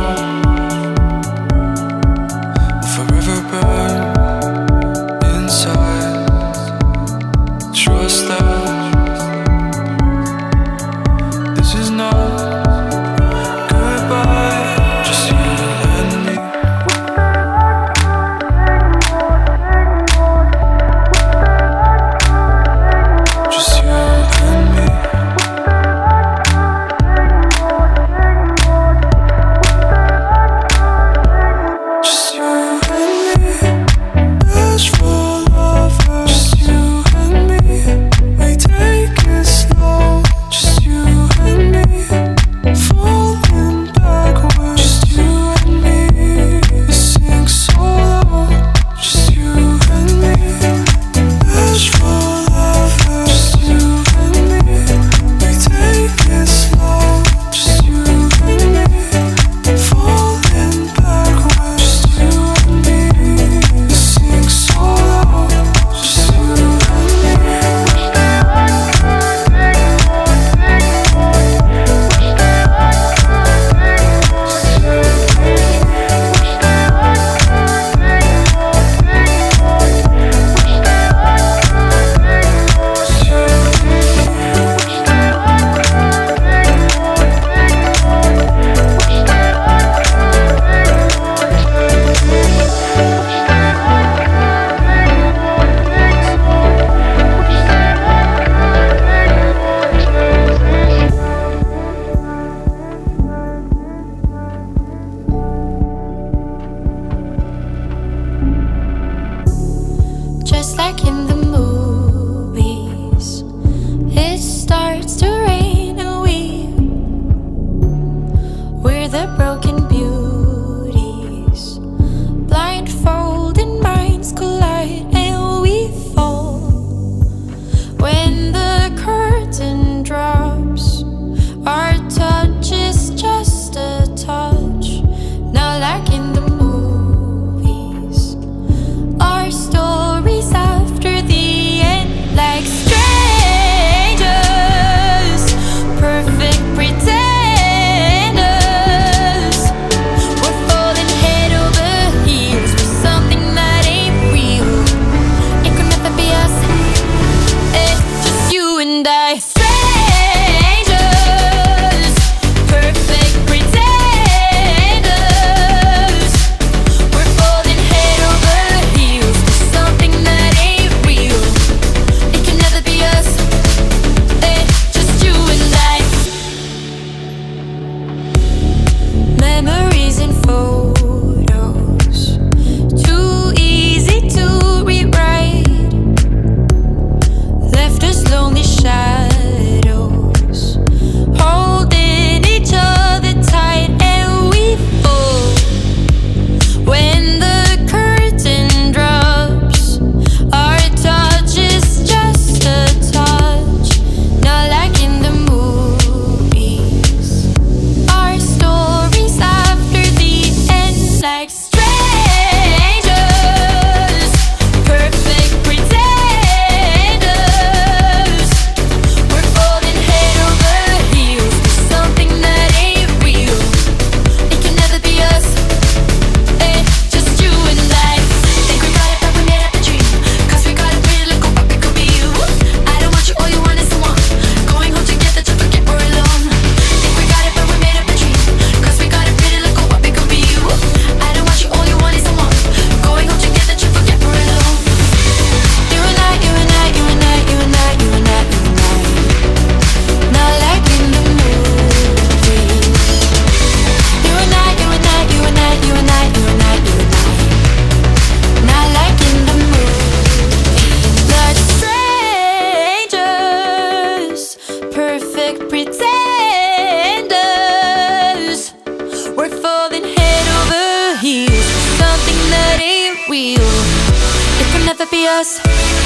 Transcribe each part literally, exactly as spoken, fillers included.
us,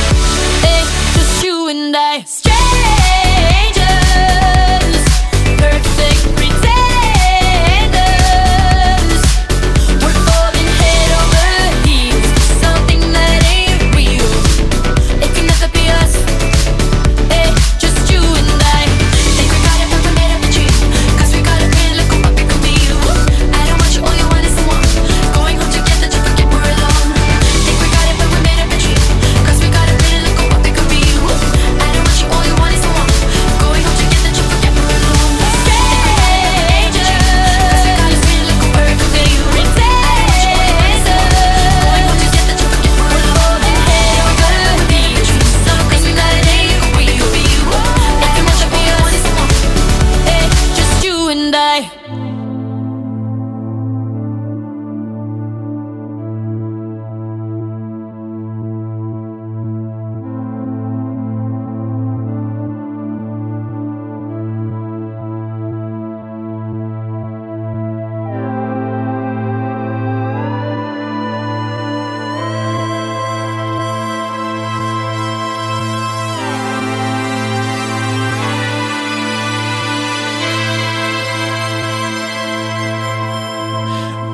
it's just you and I. Strangers, perfect pretenders. We're falling head over heels for something that ain't real. It can never be us, it's just you and I. Think we got it, but we made up a dream, 'cause we got a pretty little what we could be. I don't want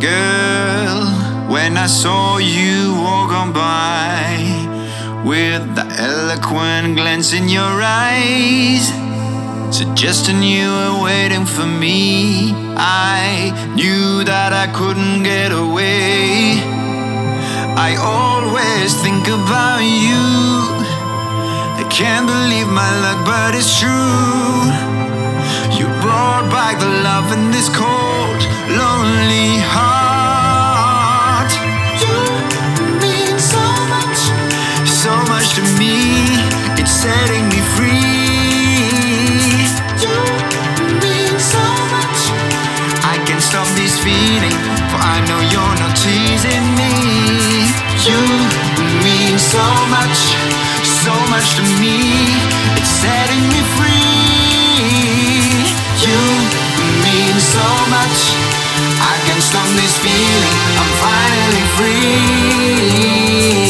Girl, when I saw you walk on by with the eloquent glance in your eyes, suggesting you were waiting for me, I knew that I couldn't get away. I always think about you. I can't believe my luck, but it's true. You brought back the love in this cold, lonely heart. You mean so much, so much to me. It's setting me free. You mean so much. I can't stop this feeling, for I know you're not teasing me. You mean so much, so much to me. It's setting me free. You mean so much. I can't stop this feeling. I'm finally free.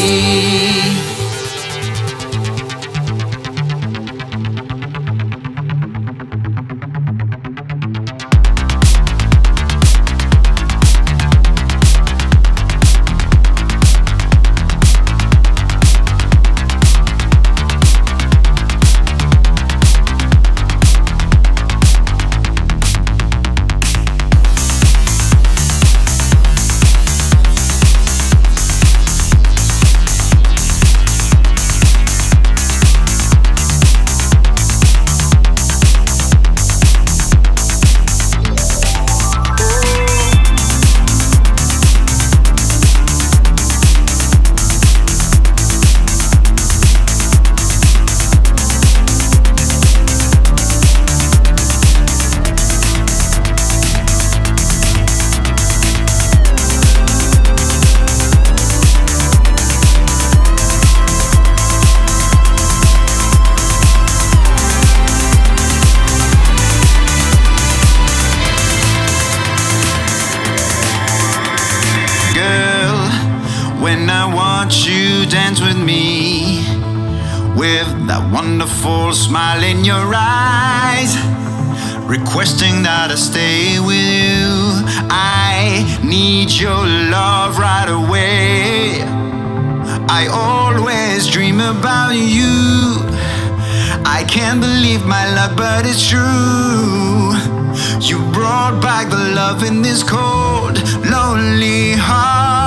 When I watch you dance with me, with that wonderful smile in your eyes, requesting that I stay with you. I need your love right away. I always dream about you. I can't believe my luck, but it's true. You brought back the love in this cold, lonely heart.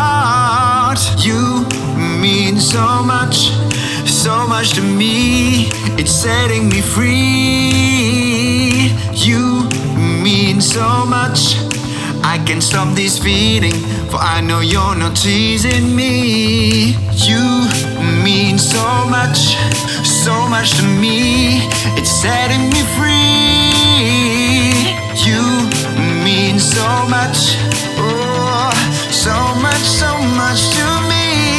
You mean so much, so much to me. It's setting me free. You mean so much. I can't stop this feeling, for I know you're not teasing me. You mean so much, so much to me. It's setting me free. You mean so much, oh, so much, so much to me.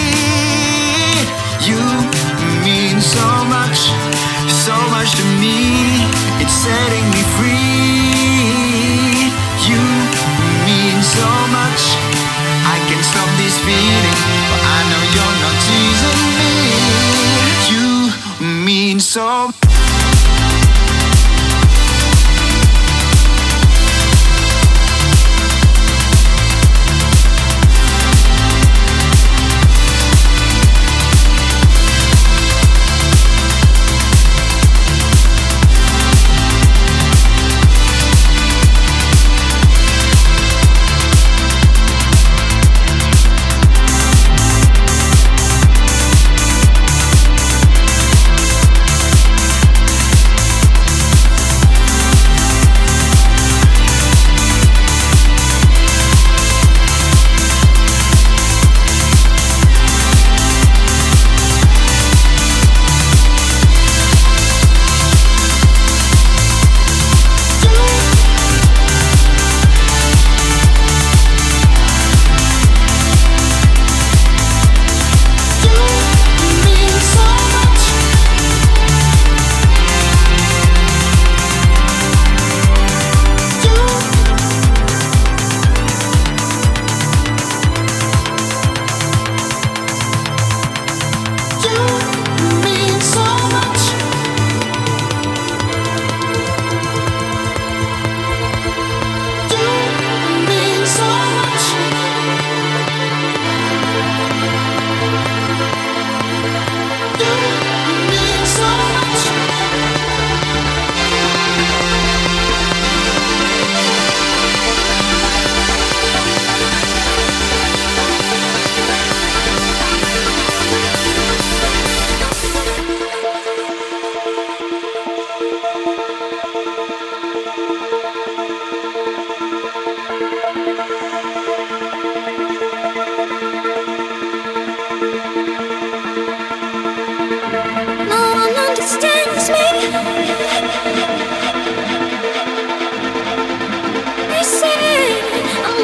You mean so much, so much to me. It's setting me free. You mean so much. I can't stop this feeling, but I know you're not teasing me. You mean so much.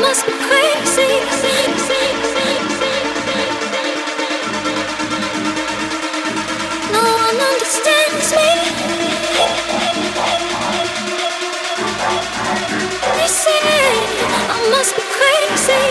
must be crazy. No one understands me. They say I must be crazy.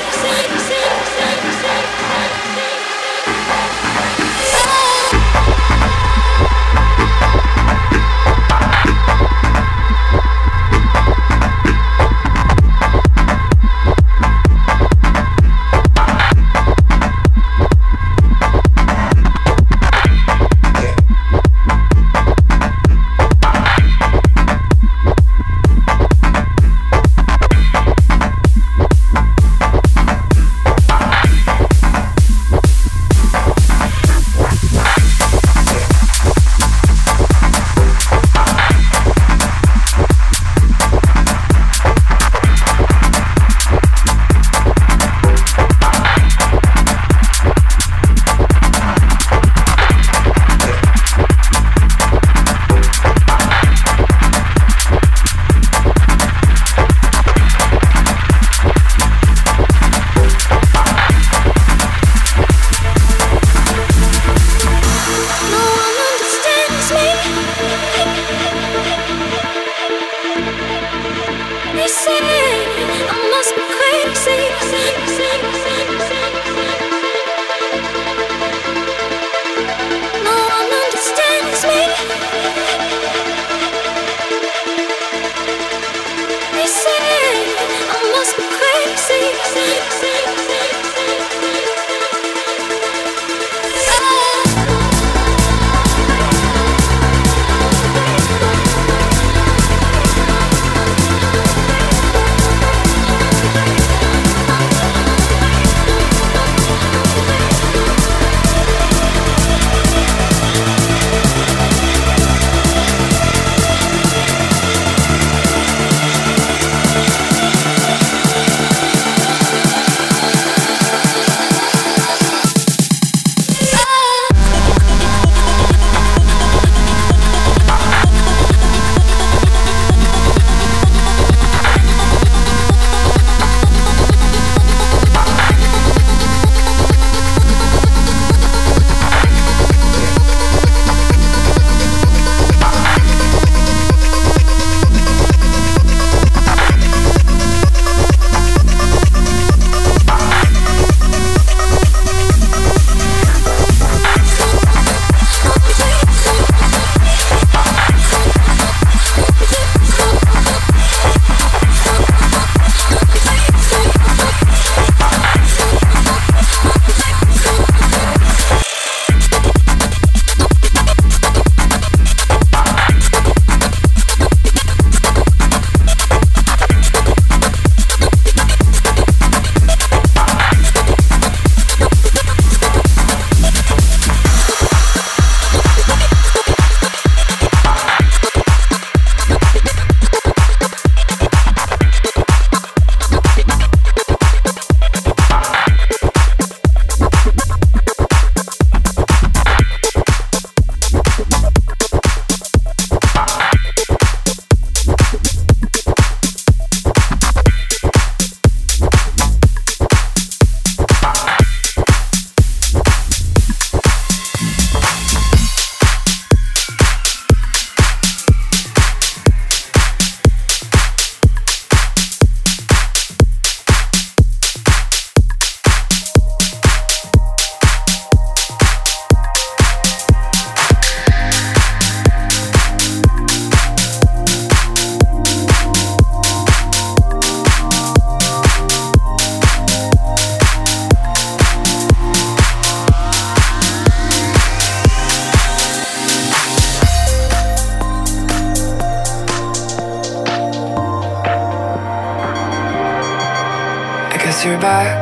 guess you're back.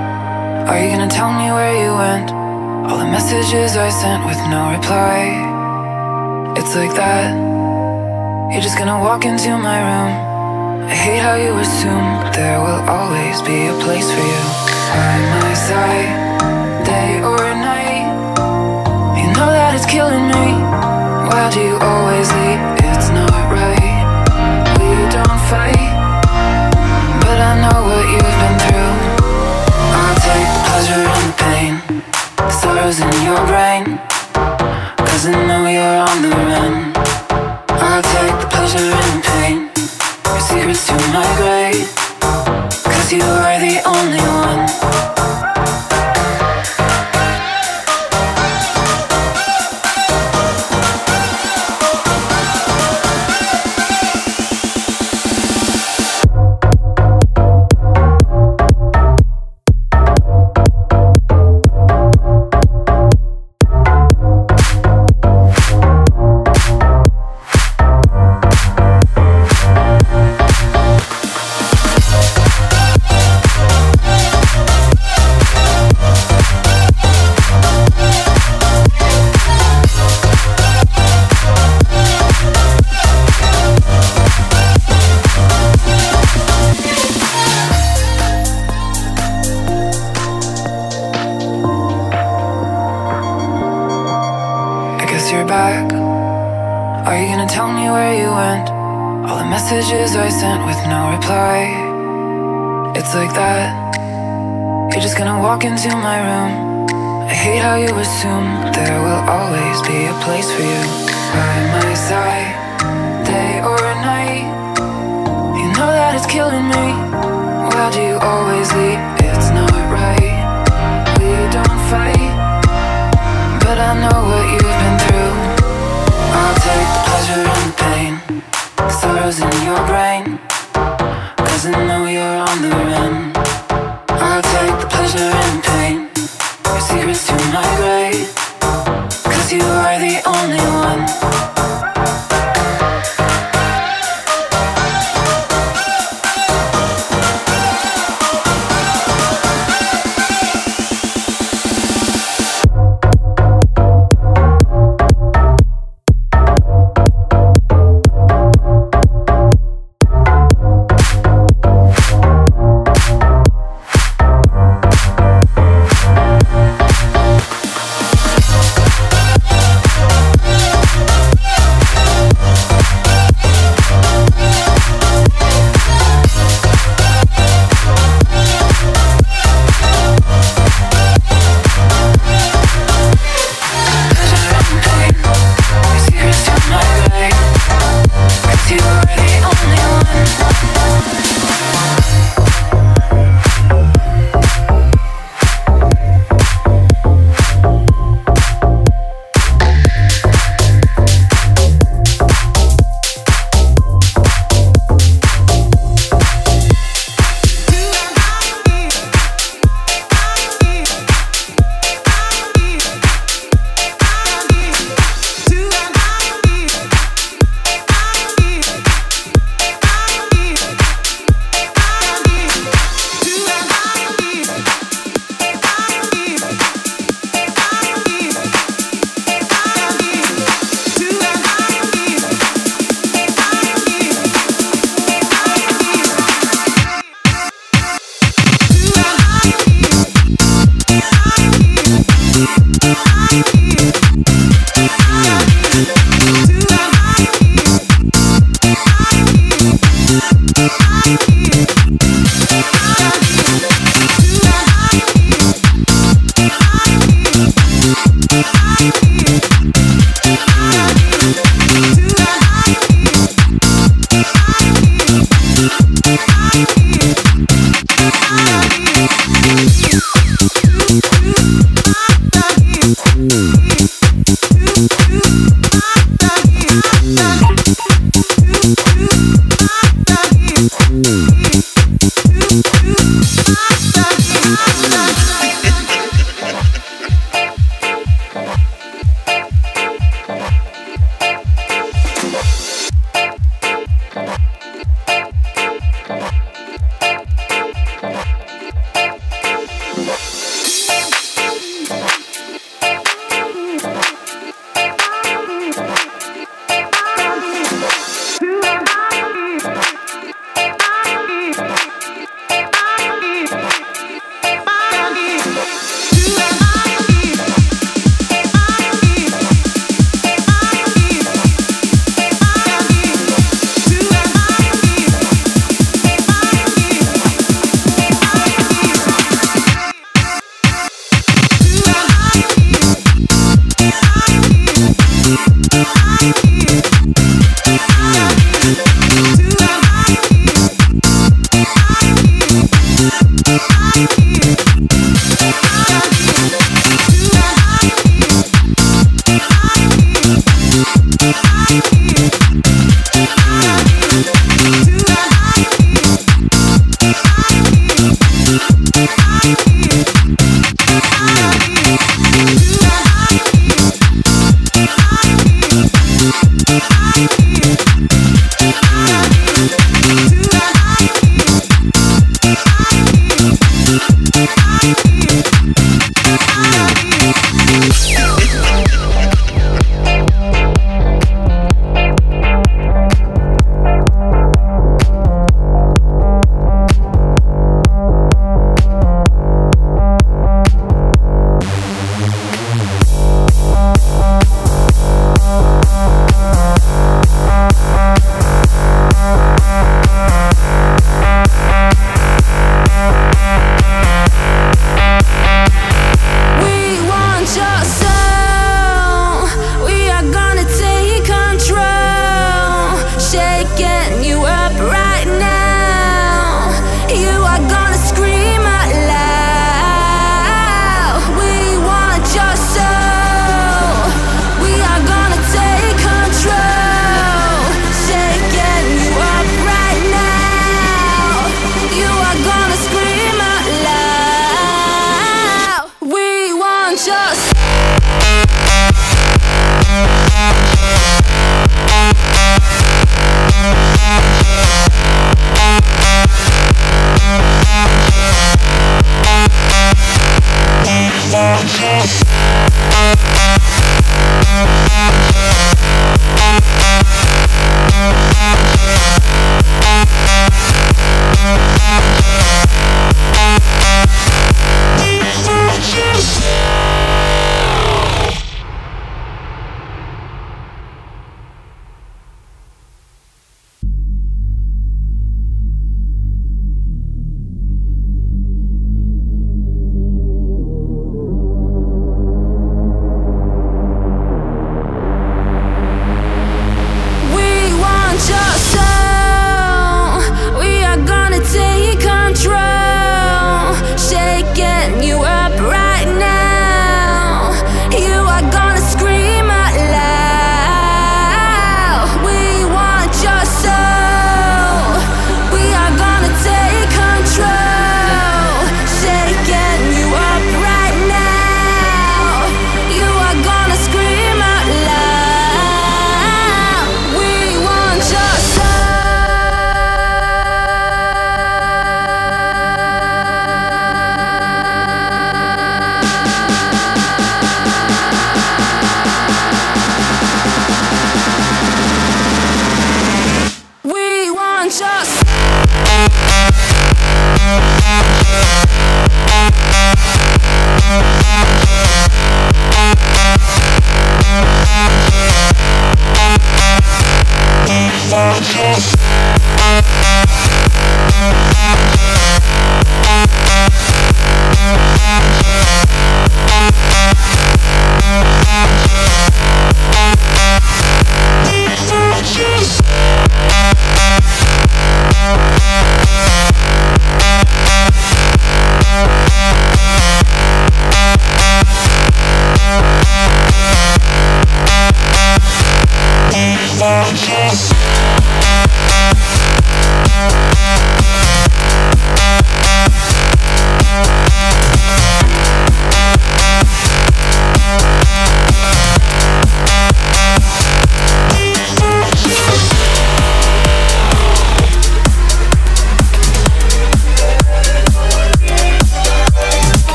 Are you gonna tell me where you went? All the messages I sent with no reply. It's like that. You're just gonna walk into my room. I hate how you assume there will always be a place for you by my side, day or night. You know that it's killing me. Why do you always leave? It's not right. We don't fight, but I know what you've been through. only one. You're back. Are you gonna tell me where you went? All the messages I sent with no reply. It's like that. You're just gonna walk into my room. I hate how you assume there will always be a place for you by my side, day or night. You know that it's killing me. Why do you always leave? It's not right. We don't fight, but I know what you've been through. I'll take the pleasure and the pain, the sorrows in your brain, cause I know you're on the run. I'll take the pleasure and the pain, your secrets to my grave, cause you are the only one.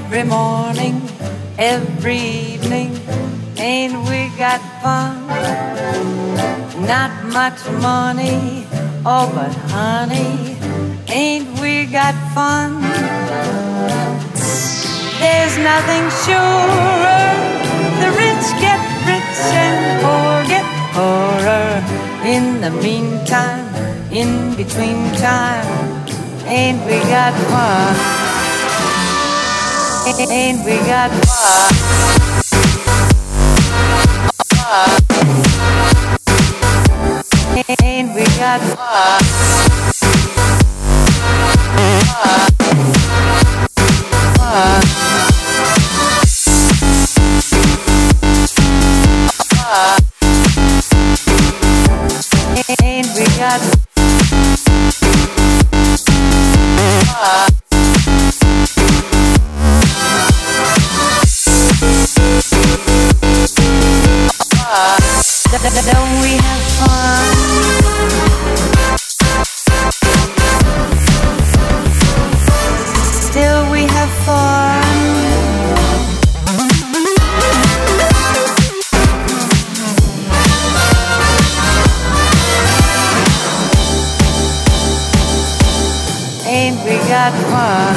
every morning, every evening, ain't we got fun? Not much money, oh but honey, ain't we got fun? There's nothing surer, the rich get rich and poor get poorer. In the meantime, in between time, ain't we got fun? Ain't we got fun? Ain't we got fun? Fun. Ain't we got fun? Don't we have fun? Still we have fun. Ain't we got fun?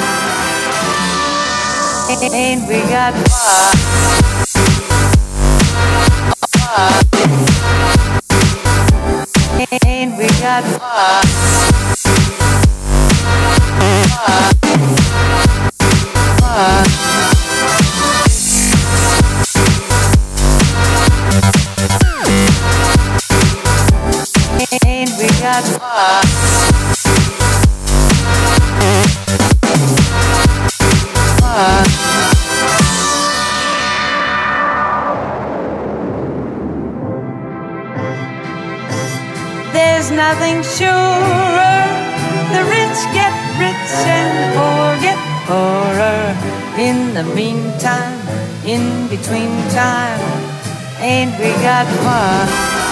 Ain't we got fun? Ain't we got fun? Fun. Ain't we got fun? Fun. There's nothing surer, the rich get rich and poor get poorer. In the meantime, in between time, ain't we got fun?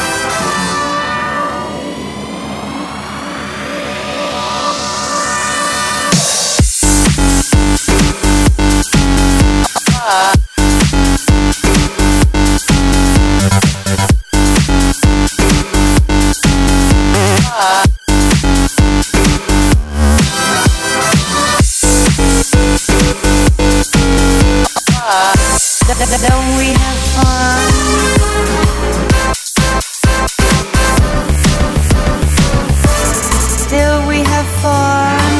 Don't we have fun? Still we have fun.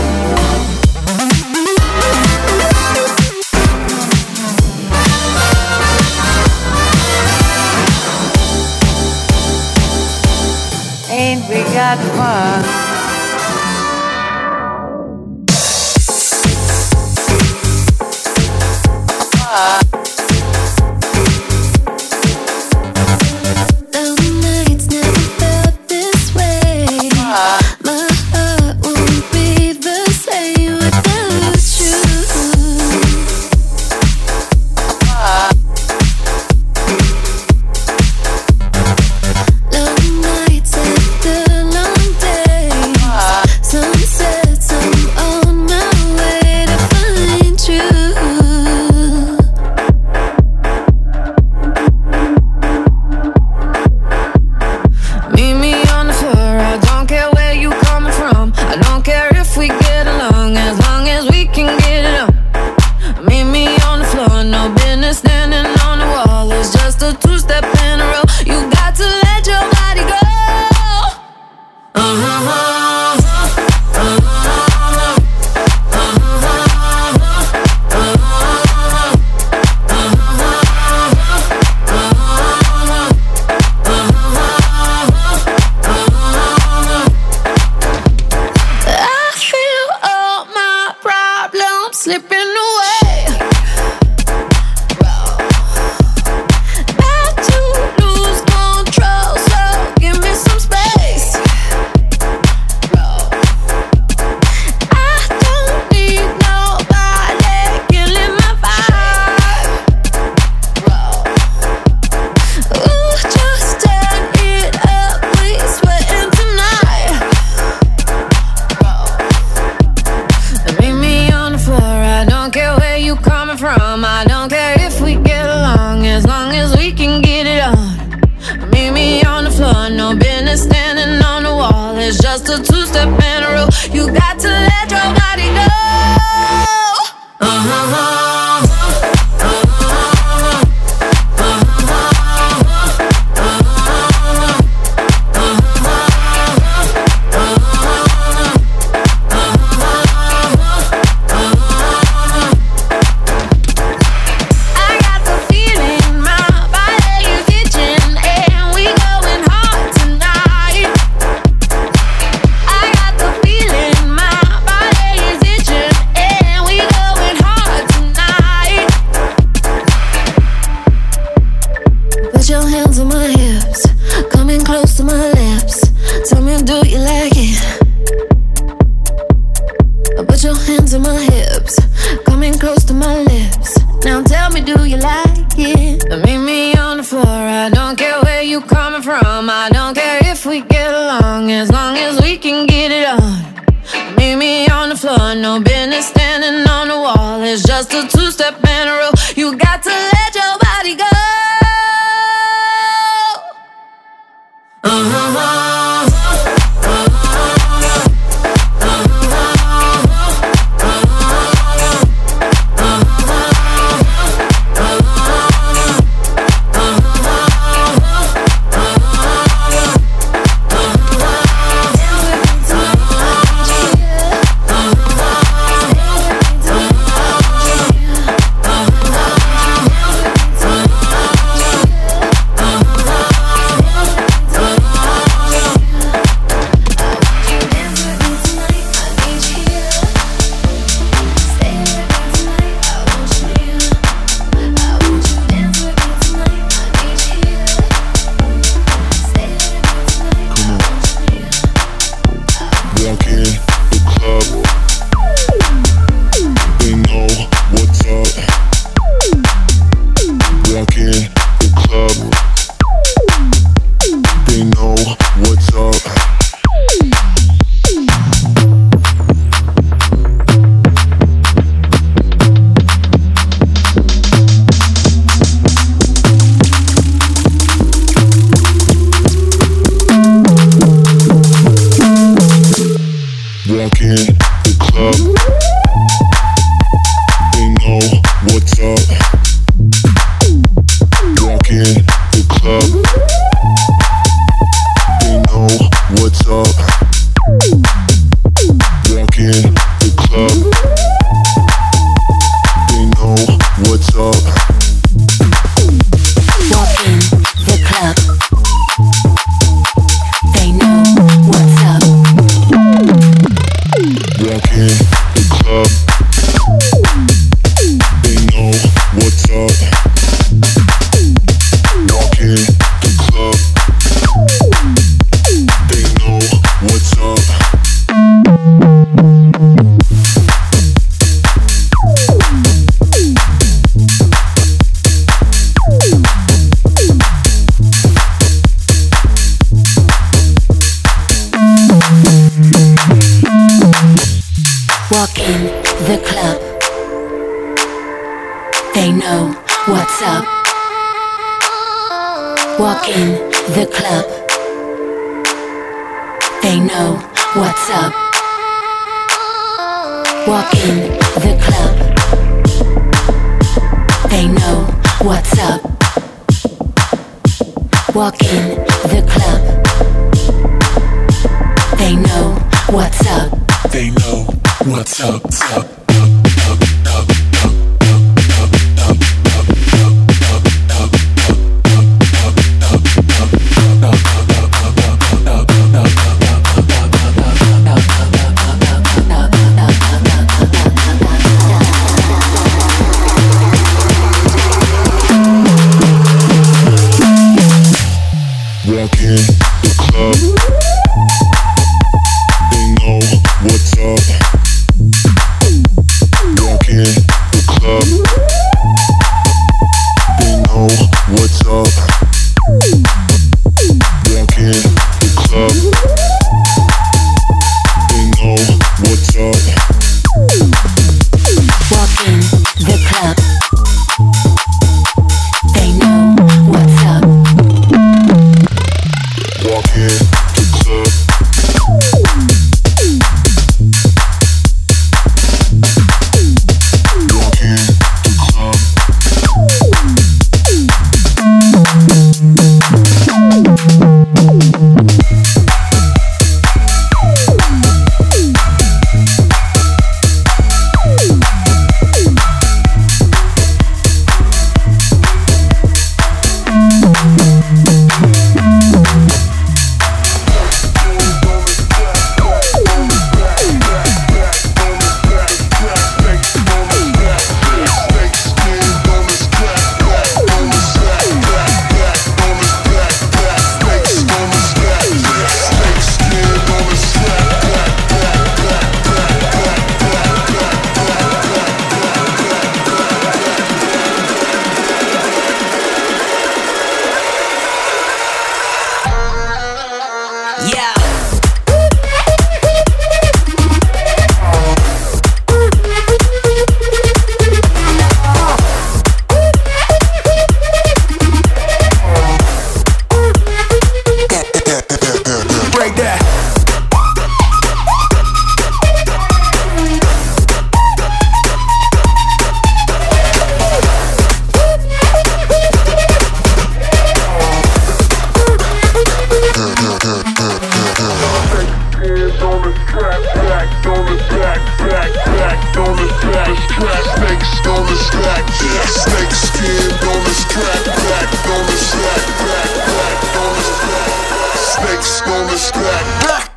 Ain't we got fun? Don't hands on my hips, coming close to my lips. Now tell me, do you like it? Meet me on the floor. I don't care where you coming from. I don't care if we get along, as long as we can get it on. Meet me on the floor. No business standing on the wall. It's just a two-step and a roll. You got to let your body go. Uh-huh. What's up? track, snakes on the track, snake skin on the track, back on the track, back, back on the track, snakes on the track.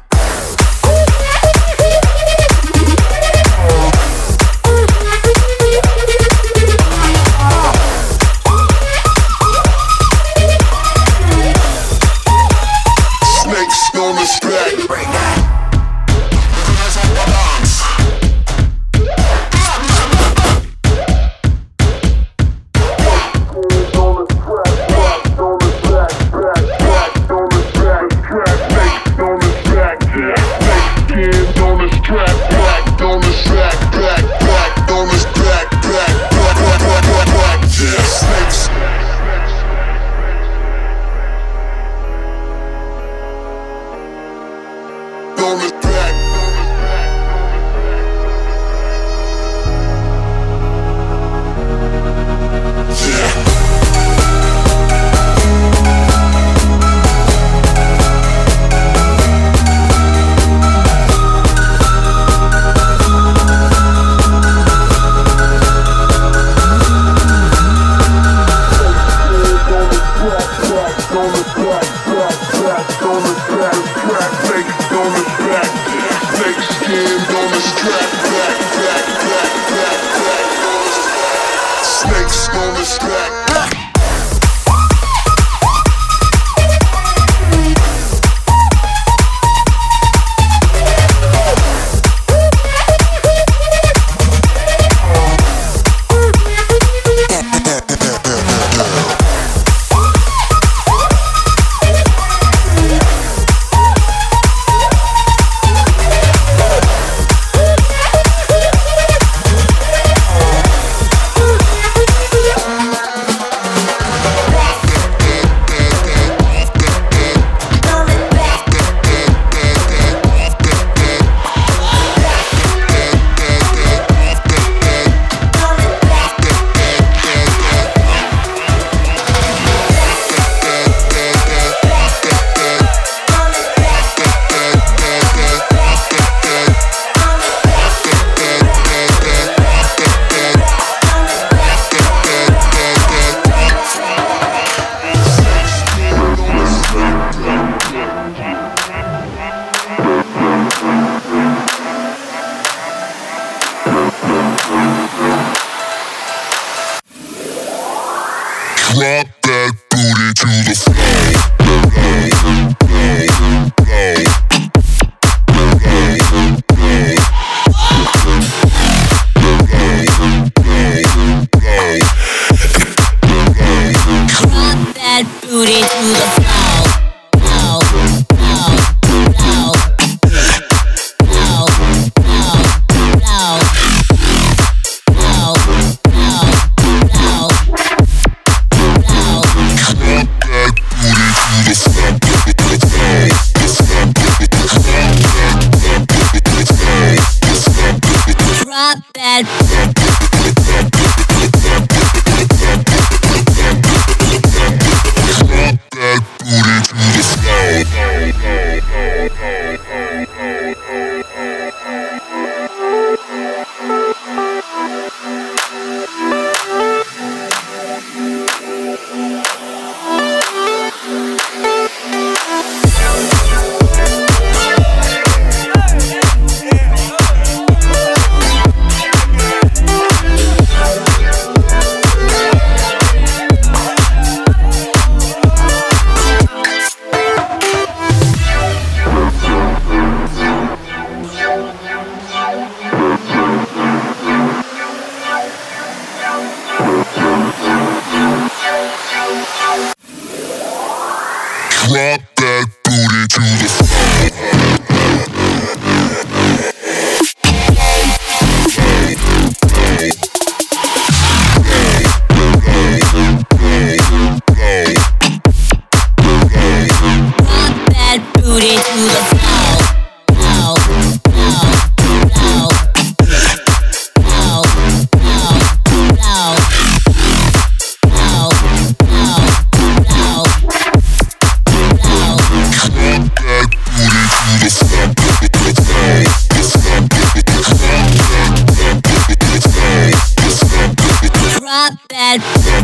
that.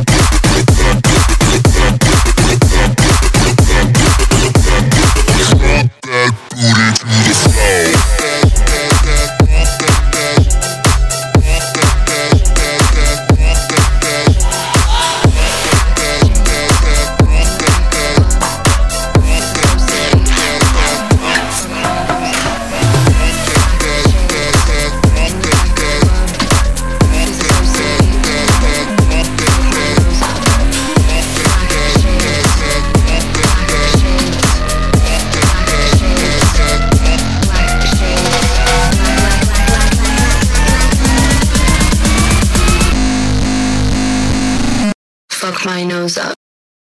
My nose up.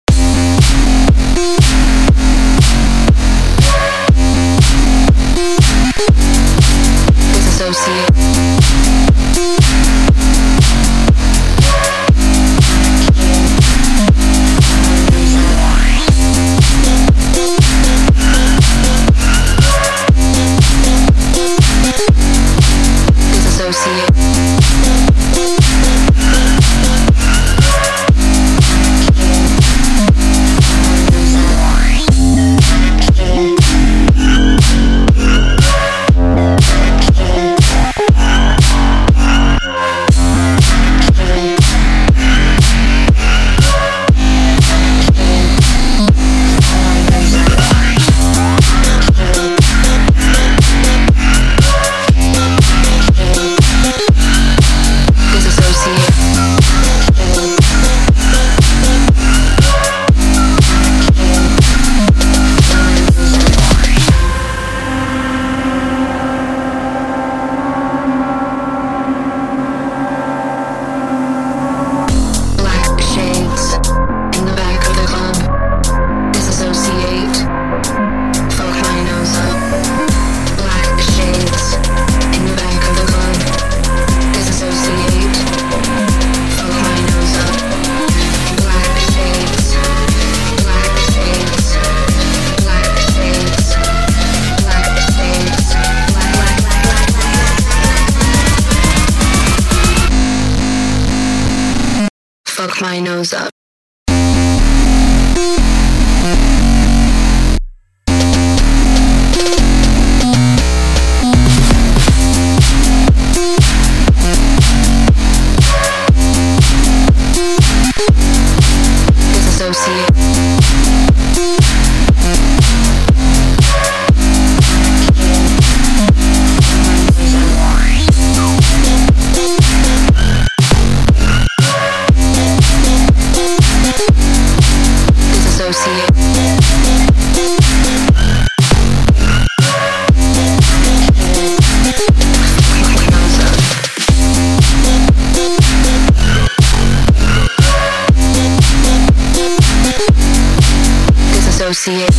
Disassociate. Disassociate. Fuck my nose up. Disassociate. Disassociate.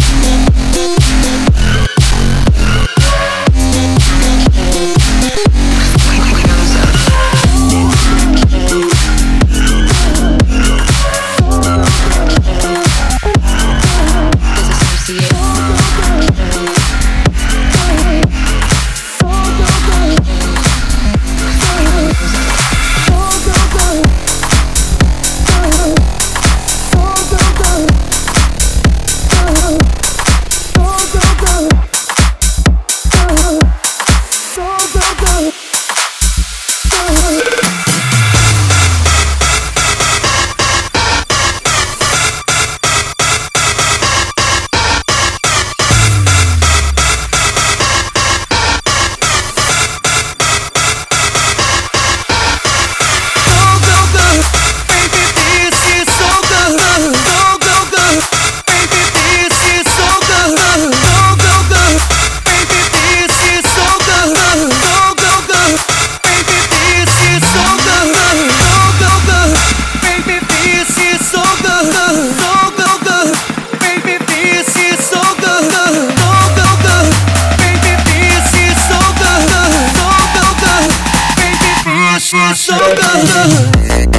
So good.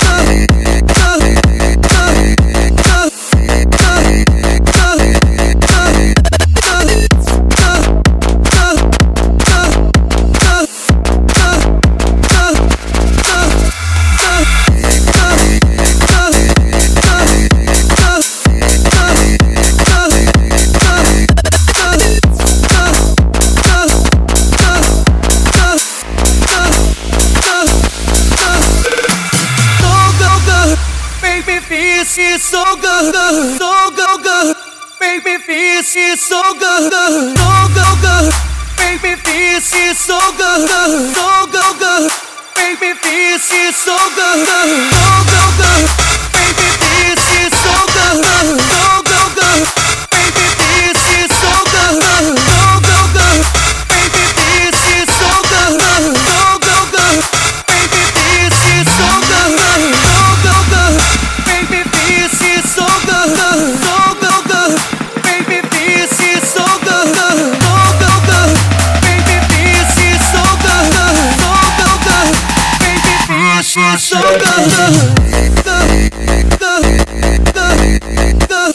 feels so good, so good, good. Make me feel feels so good, so good, good. Make me feel feels so good, so good, good. Make me feel feels so good, so good, good. Make me feel feels so good, so good, good. Make me feel feels so good, so good, good. Make me feel feels so good, so good, good. Make me feel feels so good, so good, good. Make me feel feels so good, so good, good. Make me feel feels so good, so good, good. Make me feel feels so good, so good, good. Make me feel feels so good, good, good, good, good.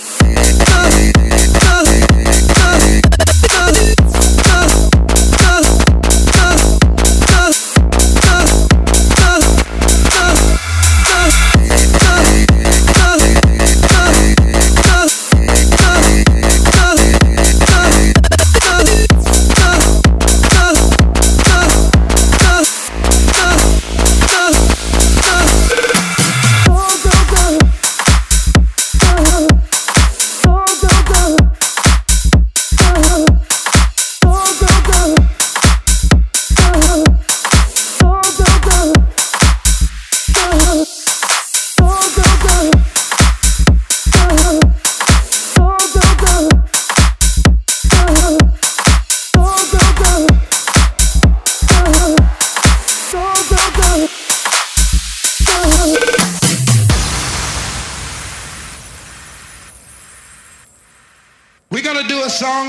We're gonna do a song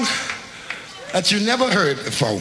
that you never heard before.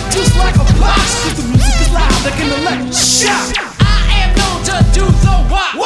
Shout! I am known to do the what?